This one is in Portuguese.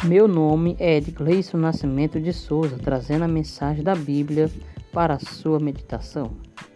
Meu nome é Edgleison Nascimento de Souza, trazendo a mensagem da Bíblia para a sua meditação.